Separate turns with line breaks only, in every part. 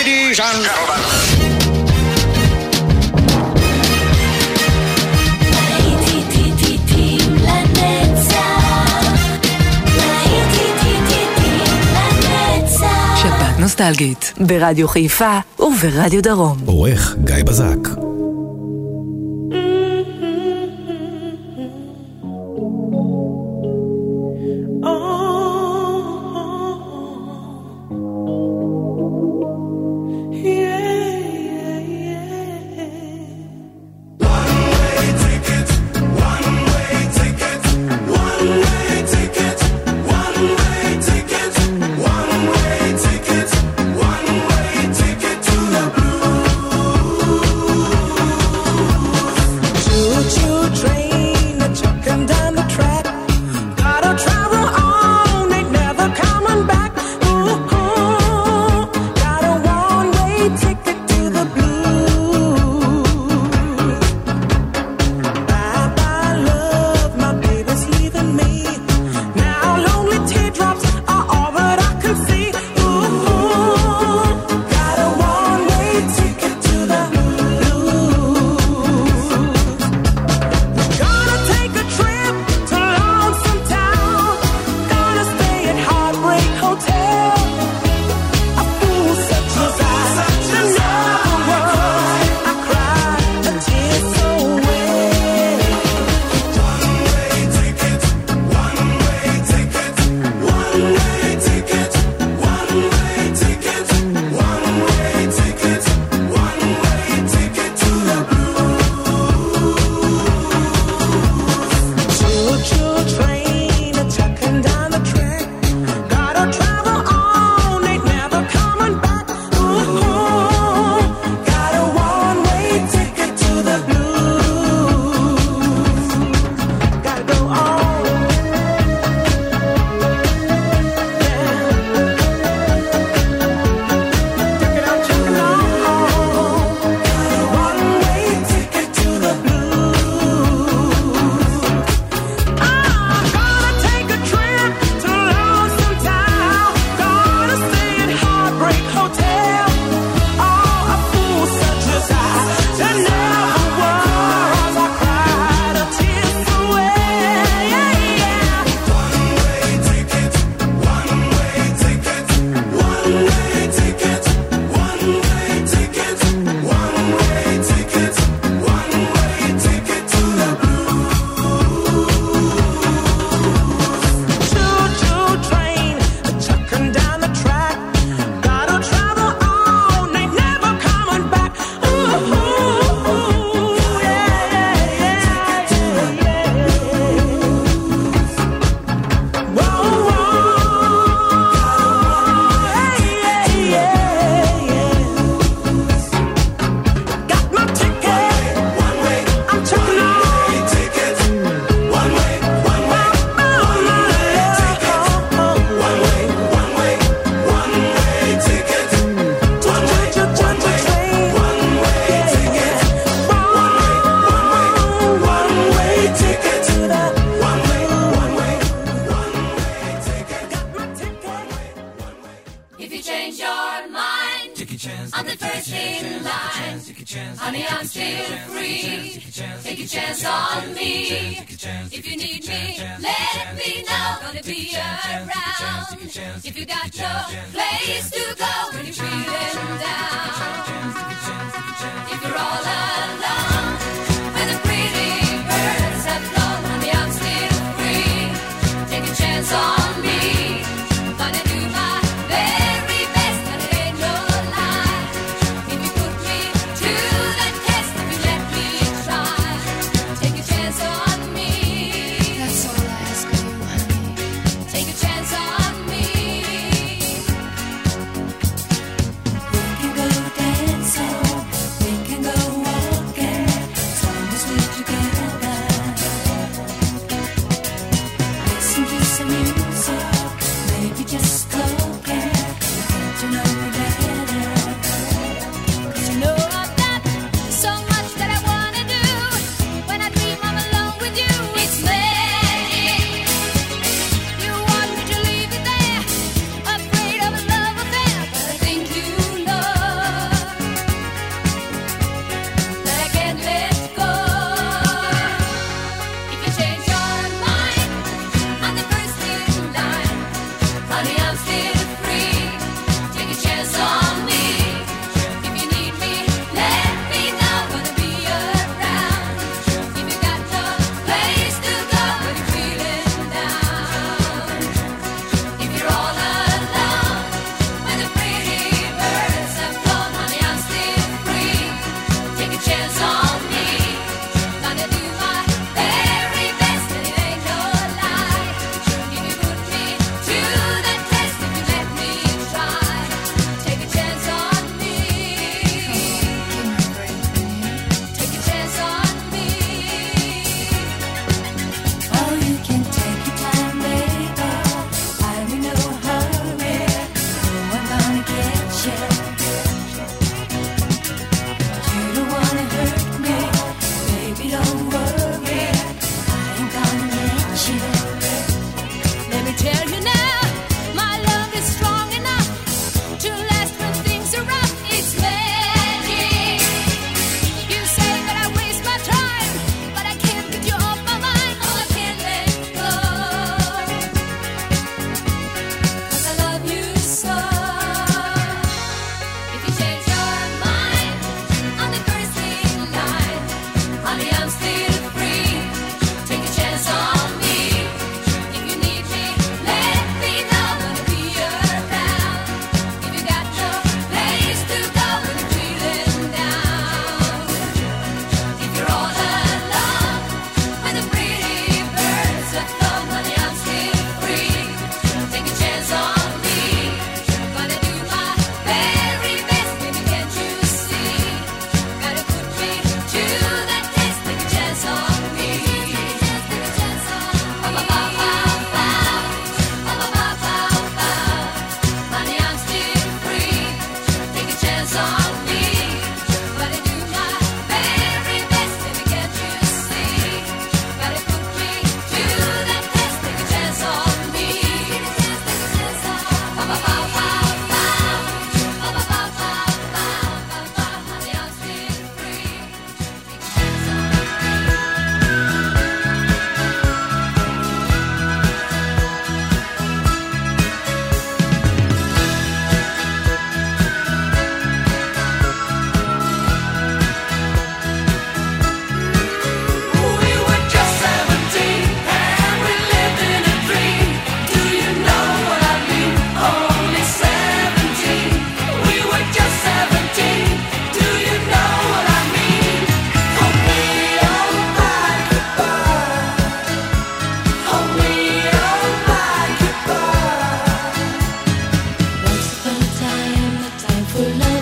Ladies and gentlemen.
שבת נוסטלגית ברדיו חיפה וברדיו דרום.
עורך גיא בזק.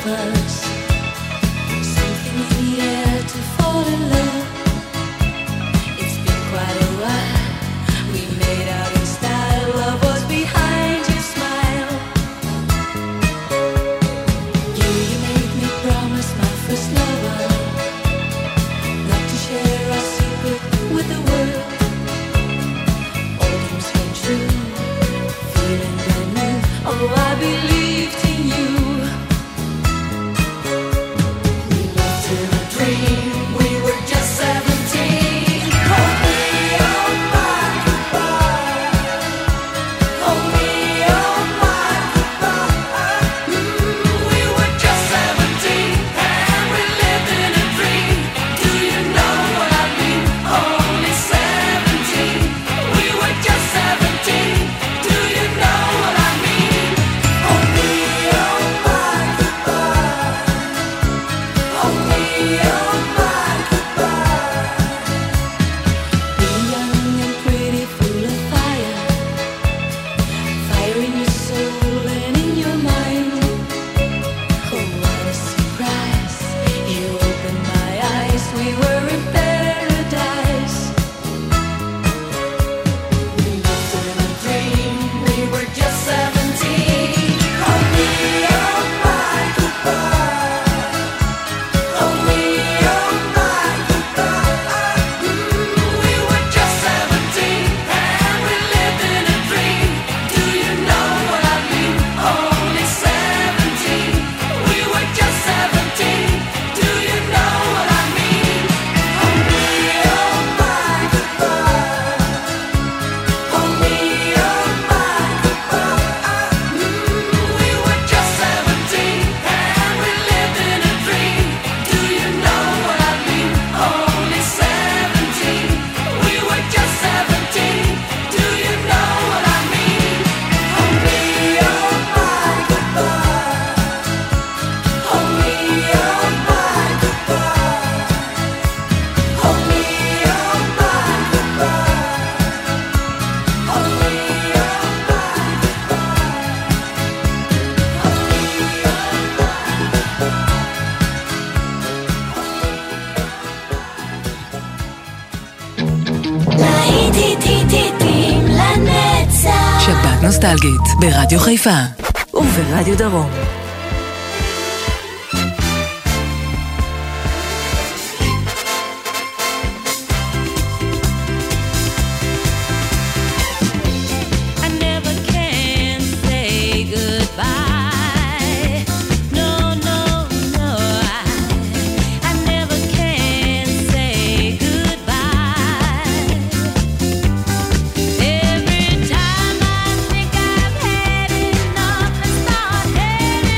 שבת נוסטלגית ברדיו חיפה וברדיו דרום.
Every time I think I've had enough and start heading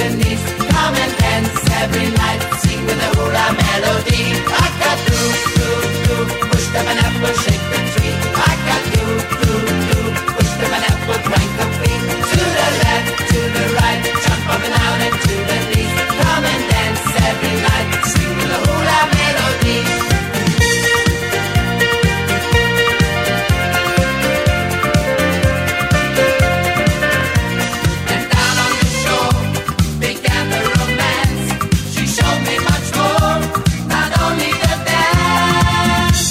the knees. Come and dance every night, sing with a hula melody. Rock-a-doo, doo, doo, push the pineapple, shake the tree. Rock-a-doo, doo, doo, push the pineapple, crank the feet. To the left, to the right, jump up and down and to the knees. Come and dance every night, sing with a hula melody. And down on the shore began the romance. She showed me much more, not only the dance.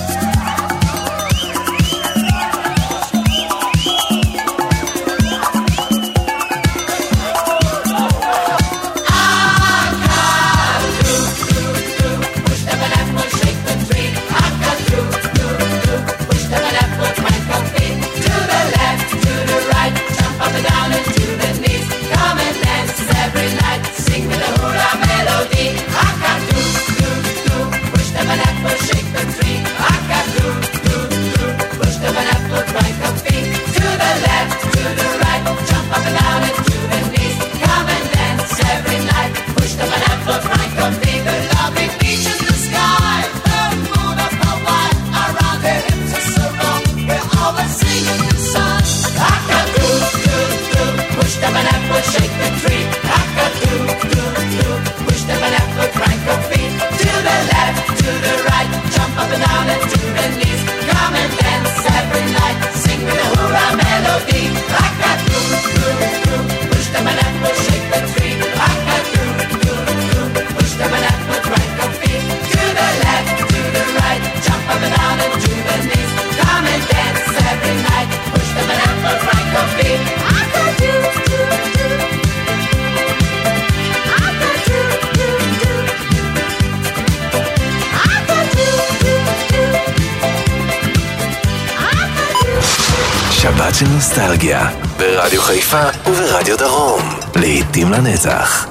Push the pineapple, shake the tree. Rock-a-doo, doo, doo, push the pineapple, crank your feet. To the left, to the right, jump up and down and to the knees. Come and dance every night, sing with a hula melody. Rock-a-doo, doo, doo, push the pineapple, shake the tree. Rock-a-doo, doo, doo, push the pineapple, crank your feet. To the left, to the right, jump up and down and to the knees. Come and dance every night, push the pineapple, crank your feet. The lovely beach in the sky, the moon of Hawaii, around her hips a circle, we're always singing the song. Rock-a-doo, doo, doo, push the pineapple, shake the tree. Rock-a-doo, doo, doo, push the pineapple, crank your feet. To the left, to the right, jump up and down and to the knees. Come and dance every night, sing with a hula melody. Rock-a-doo, doo, doo, push the pineapple, shake the tree. Rock-a-doo, doo, doo, push the pineapple, crank your feet. To the left, to the right, jump up and down and to the knees. Come and dance every night, push the pineapple, crank your feet. Rock-a-doo, doo, doo. Rock-a-doo, doo, doo. Rock-a-doo, doo, doo. Rock-a-doo.
שבת של נוסטלגיה, ברדיו חיפה וברדיו דרום, לעתים לנצח.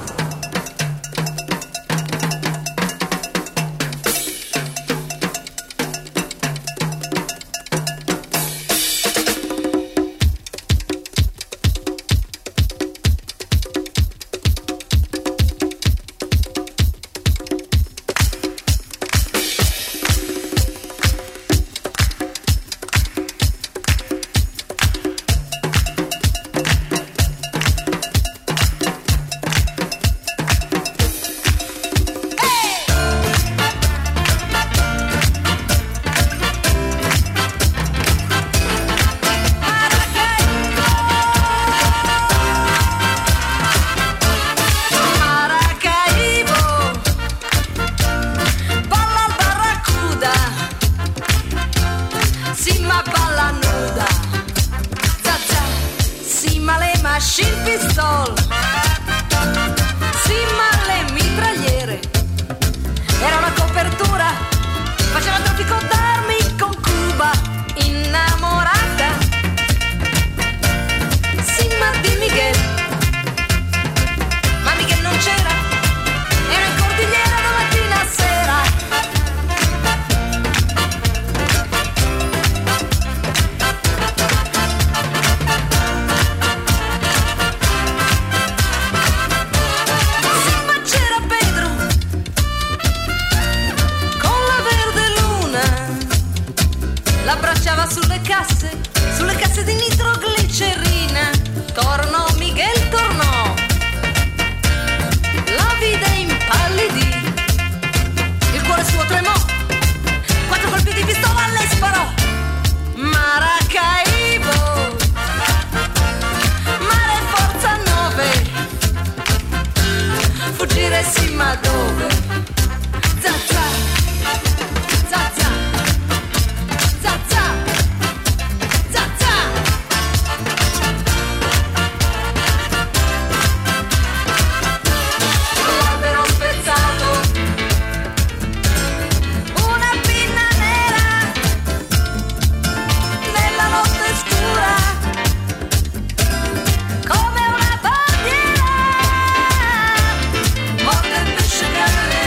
Sulle casse di nitroglicerina. Tornò Miguel, tornò. La vide impallidì. Il cuore suo tremò. 4 colpi di pistola le sparò. Maracaibo, mare forza 9. Fuggire sì, ma dove? Zazza, zazza, zazza, zazza. L'albero spezzato, una pinna nera nella notte scura, come una bandiera. Morte il pesce che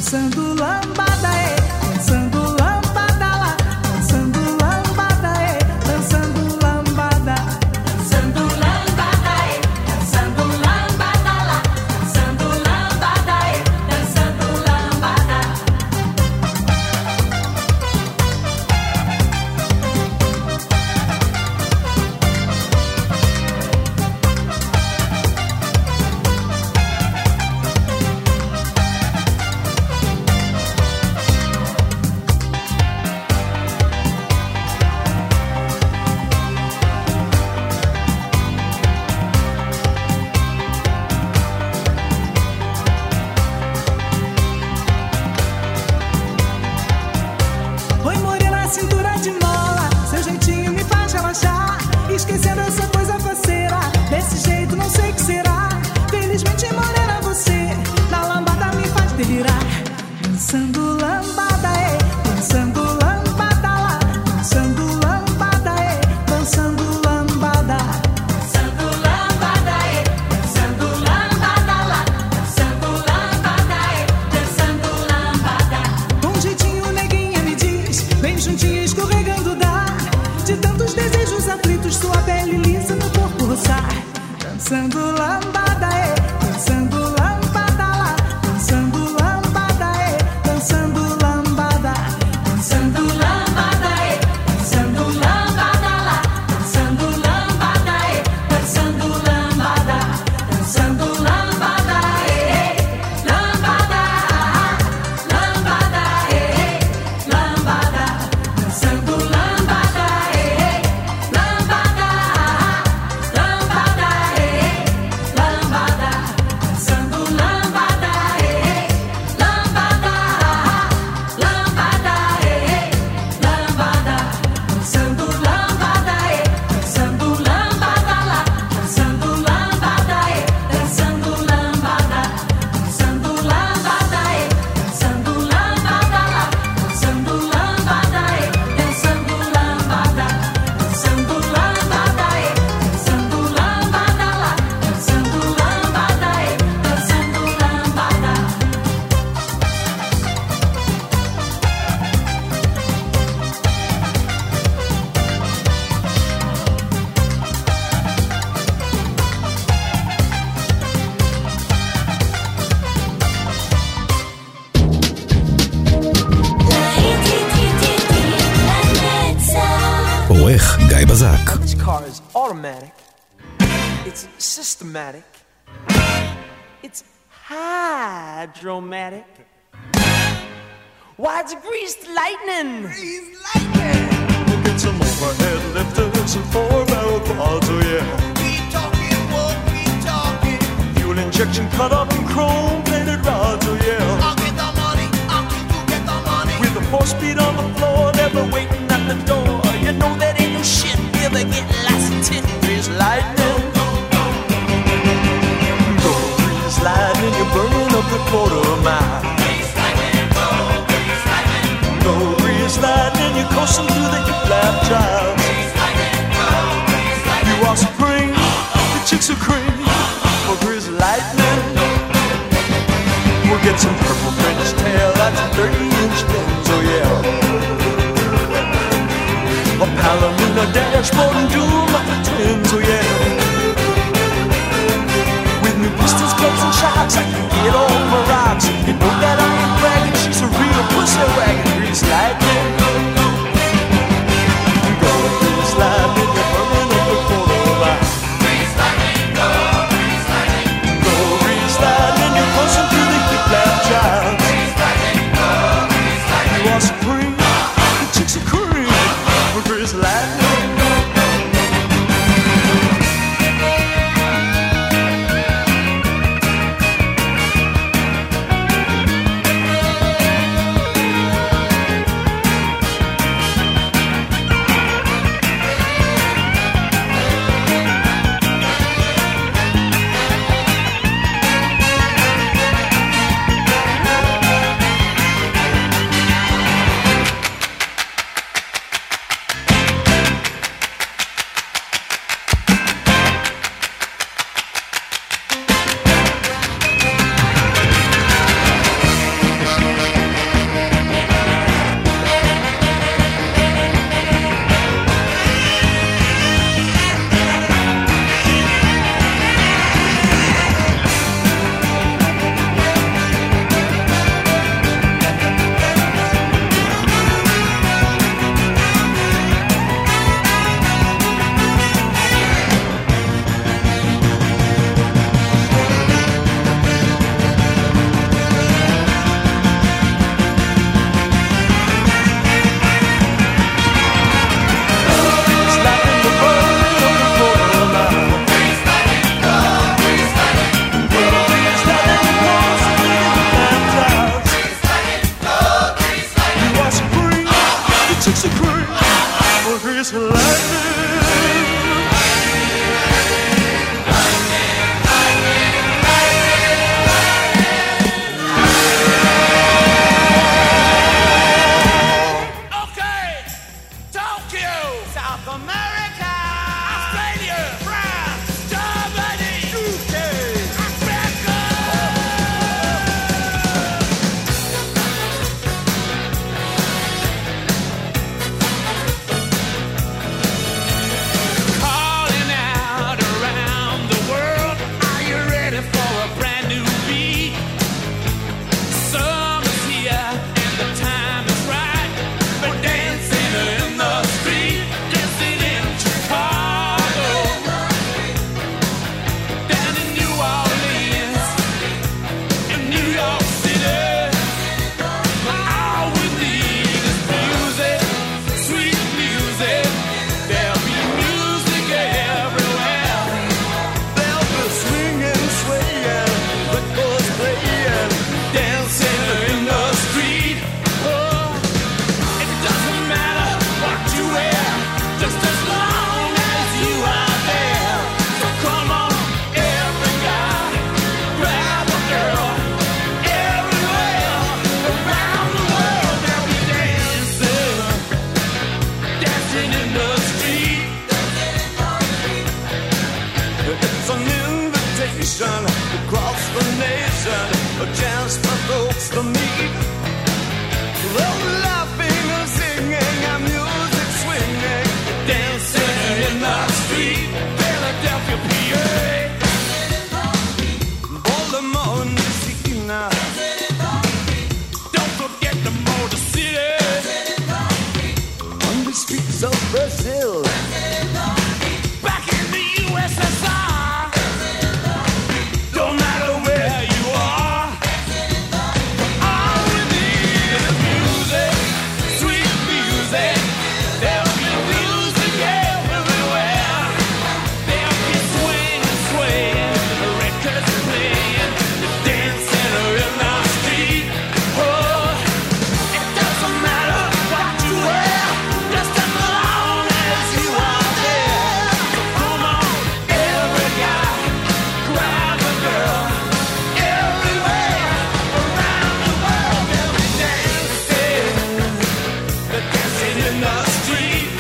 Dançando lambada, dançando lambada lá. Dançando lambada, dançando lambada.
Dançando lambada, dançando lambada lá. Dançando lambada, dançando lambada.
Oi, morena, cintura de mola. Seu jeitinho me faz relaxar. Esquecendo essa coisa faceira. Desse jeito não sei o que será. Felizmente, morena, você na lambada me faz delirar. Dançando lambada, dançando lambada lá. Dançando lambada, dançando lambada.
Dançando lambada, dançando lambada lá. Dançando lambada, dançando lambada.
Com um jeitinho, neguinha, me diz. Bem juntinho, escorregando dá. De tantos desejos aflitos, sua pele lisa no corpo roçar. Dançando lambada, dançando lambada lá. Dançando lambada, dançando lambada.
Dançando lambada, dançando lambada lá. Dançando lambada, dançando lambada. Dançando lambada, lambada, lambada, lambada. Dançando lambada, lambada, lambada, lambada. Dançando lambada, lambada, lambada, lambada. Dançando lambada, dançando lambada lá. Dançando lambada, dançando lambada. Dançando lambada, dançando lambada lá. Dançando lambada, dançando lambada. Dançando lambada, dançando lambada lá. Dançando lambada, dançando lambada.
עורך גיא בזק.
This car is automatic. It's systematic. It's hydromatic. Why, it's greased lightning. Greased lightning.
We'll get some overhead lifters and four-barrel quads, oh yeah.
Keep talking, won't keep talking.
Fuel injection cut up in chrome-plated rods, oh yeah.
I'll get the money, I'll keep you get the money.
With the 4-speed on the floor, never waiting at the door. You know that ain't no shit, never get lost in tin. Greased lightning. Go greased lightning, you're burning up the quarter mile. Go greased lightning, you're coasting through the hip-lap trial. You are supreme, the chicks are cream. For greased lightning, we'll get some purple French tail, that's 30-inch things, oh yeah. A Palomino dashboard and doom up the twins, oh yeah. With new pistols, clubs, and shocks, I can get all my rocks. You know that I ain't bragging, she's a real pussy wagon. Greased lightning. Go greased lightning, you're burning up the quarter mile.
Grease lightning, go, grease lightning.
Go greased lightning, you're pushing through the hip-lap child.
Grease lightning, go, grease lightning.
You are supreme, the chicks are cream. For greased lightning. station across the nation, a chance for folks to meet. Well, laughing and singing and music swinging, dancing in the street, Philadelphia, PA. Baltimore, Messina, don't forget the Motor City, on the streets of Brazil, back in the USSR. Don't matter where you are, all we need is music, sweet music. There'll be music everywhere. There'll be swing, swaying, the records playing, dancing in the street. Oh, it doesn't matter what you wear, just as long as you are there. So come on, every guy, grab a girl. Everywhere around the world, they'll be dancing. They're dancing in the street.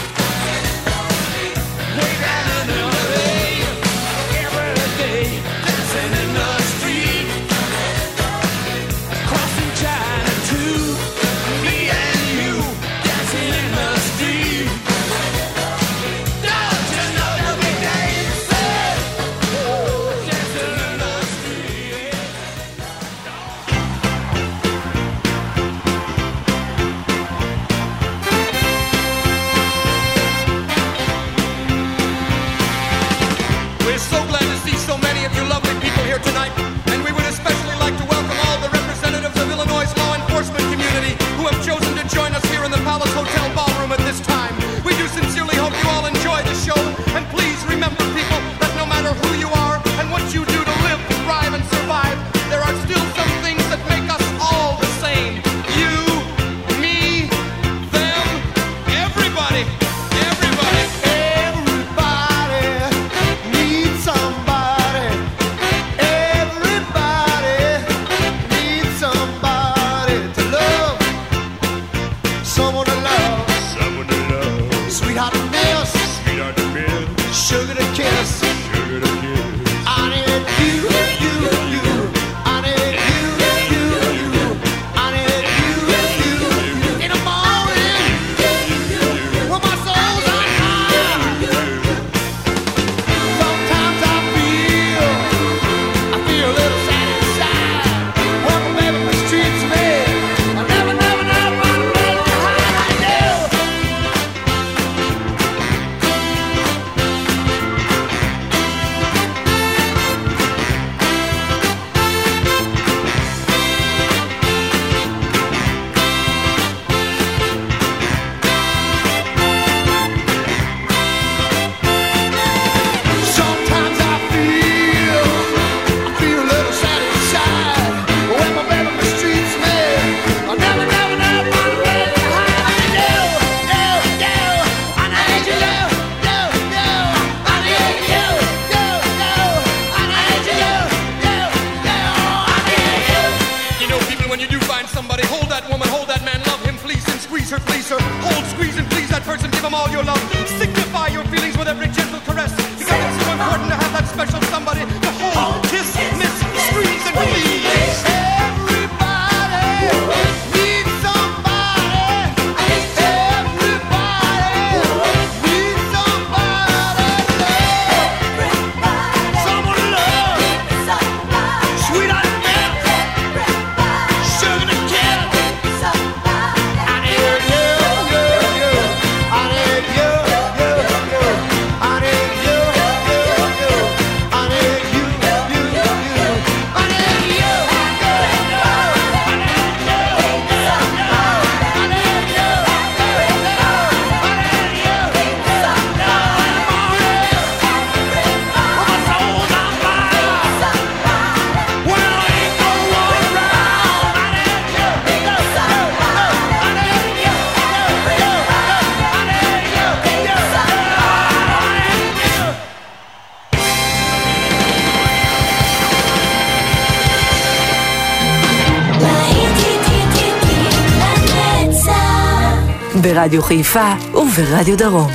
Way down in LA, every day, dancing in the street. Crossing China too, me and you, dancing in the street. Don't you know they'll be dancing, dancing in the street. We're so glad to see so many of you lovely people here tonight, and we would especially like to welcome all the representatives of Illinois' law enforcement community who have chosen to join us here in the Palace Hotel Ballroom at this time. We do sincerely hope you all enjoy the show, and please remember, people, that no matter who you are and what you do to live, thrive, and survive, there are still some things that make us all the same. You, me, them, everybody, everybody. Everybody needs somebody. Everybody needs somebody to love. Someone to love. Someone to love. Sweetheart to miss. Sweetheart to miss. Sugar to kiss. Sugar to kiss. I need you, you, you. I need you, you, you. I need you, you, you. In the morning, when my soul's on fire. Sometimes I feel a little sad inside. When my baby mistreats me, I never run away behind. I do. Sometimes I feel a little sad inside. When my baby mistreats me, I never run away behind. I do. I need you, I need you, I need you, I need you. You know, people, when you do find somebody, hold that woman, hold that man, love him, fleece and squeeze her, fleece her. Hold, squeeze and please that person, give him all your love. Signify your feelings with every gentle caress, because it's so important to have that special somebody to hold, kiss, miss, squeeze and please. Everybody needs somebody. Everybody needs somebody to love. Someone to love. Sweetheart to miss. Sugar to kiss. I need you, you, you. I need you, you, you. I need you, you, you. I need you, you, you. I need you, you, you.
ברדיו חיפה וברדיו דרום.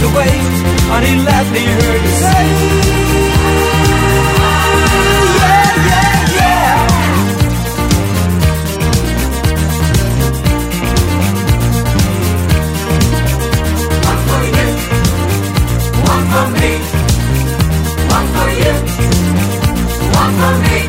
away, and he left me here to say, yeah, yeah, yeah. One for you, one for me, one for you, one for me.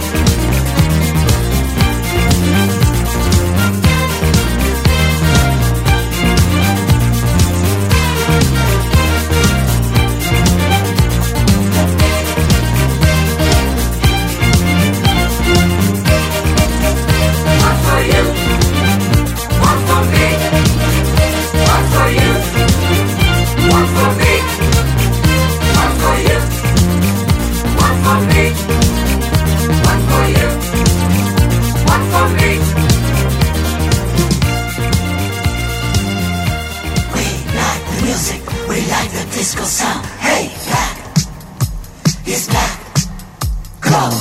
Disco sound, hey, black, it's black, club.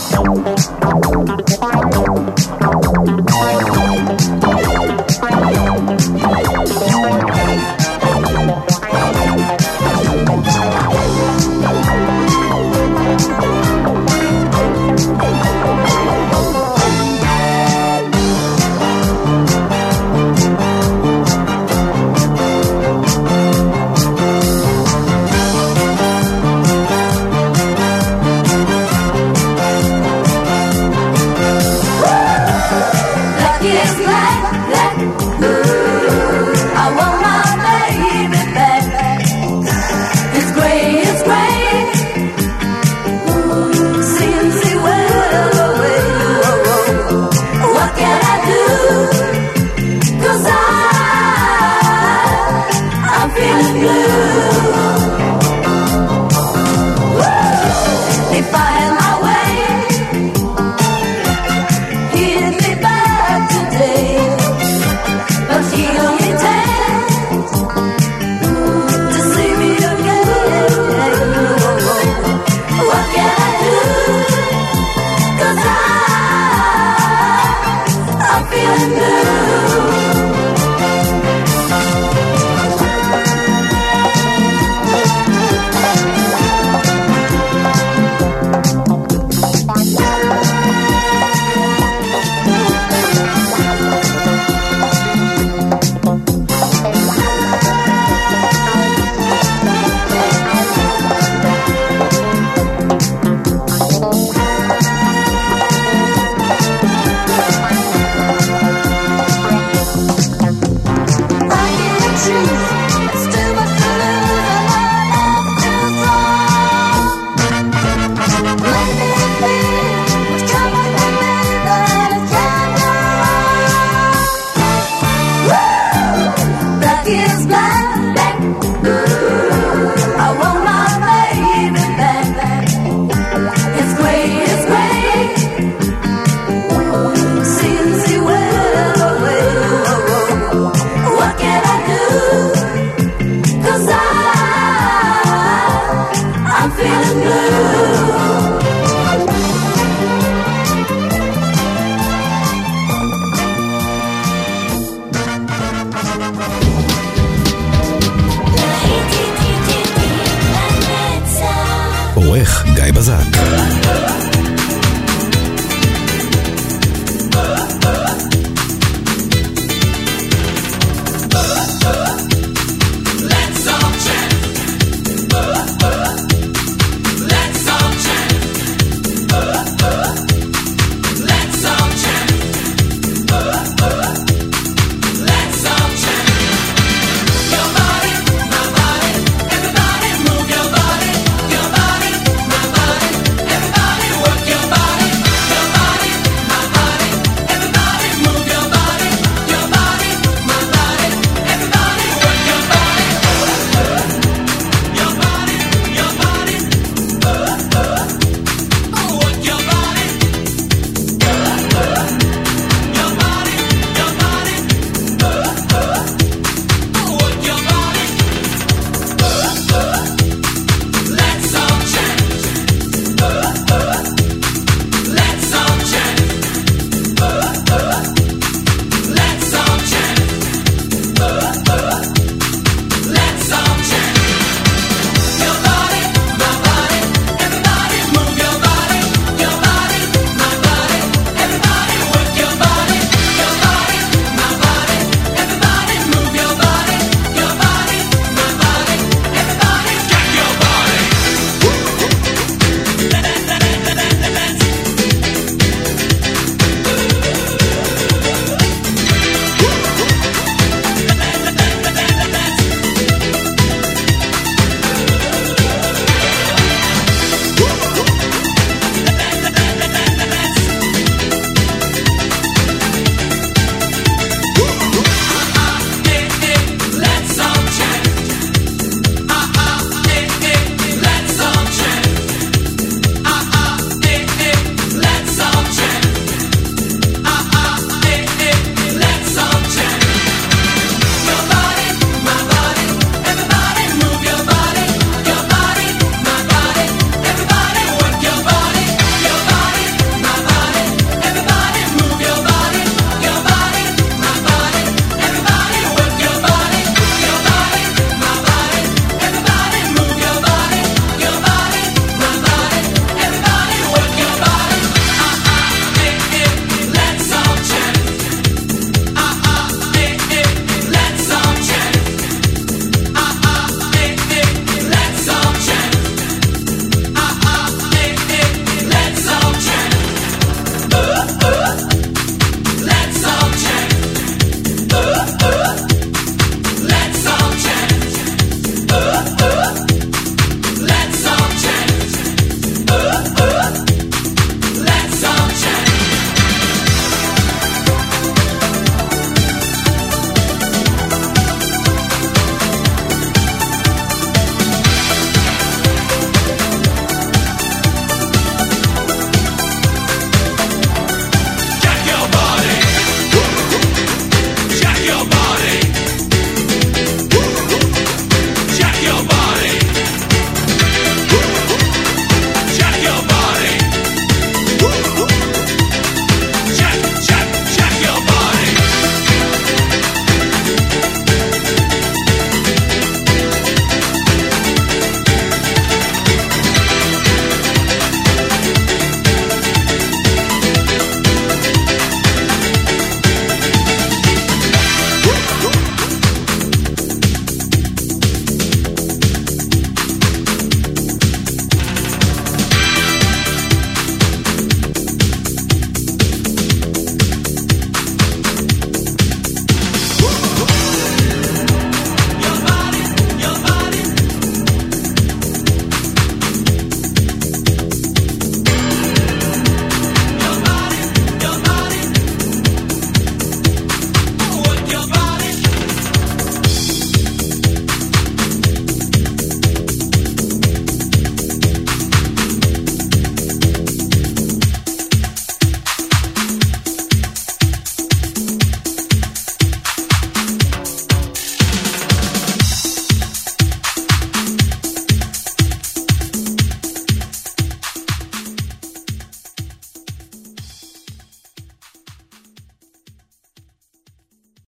עורך גיא בזק.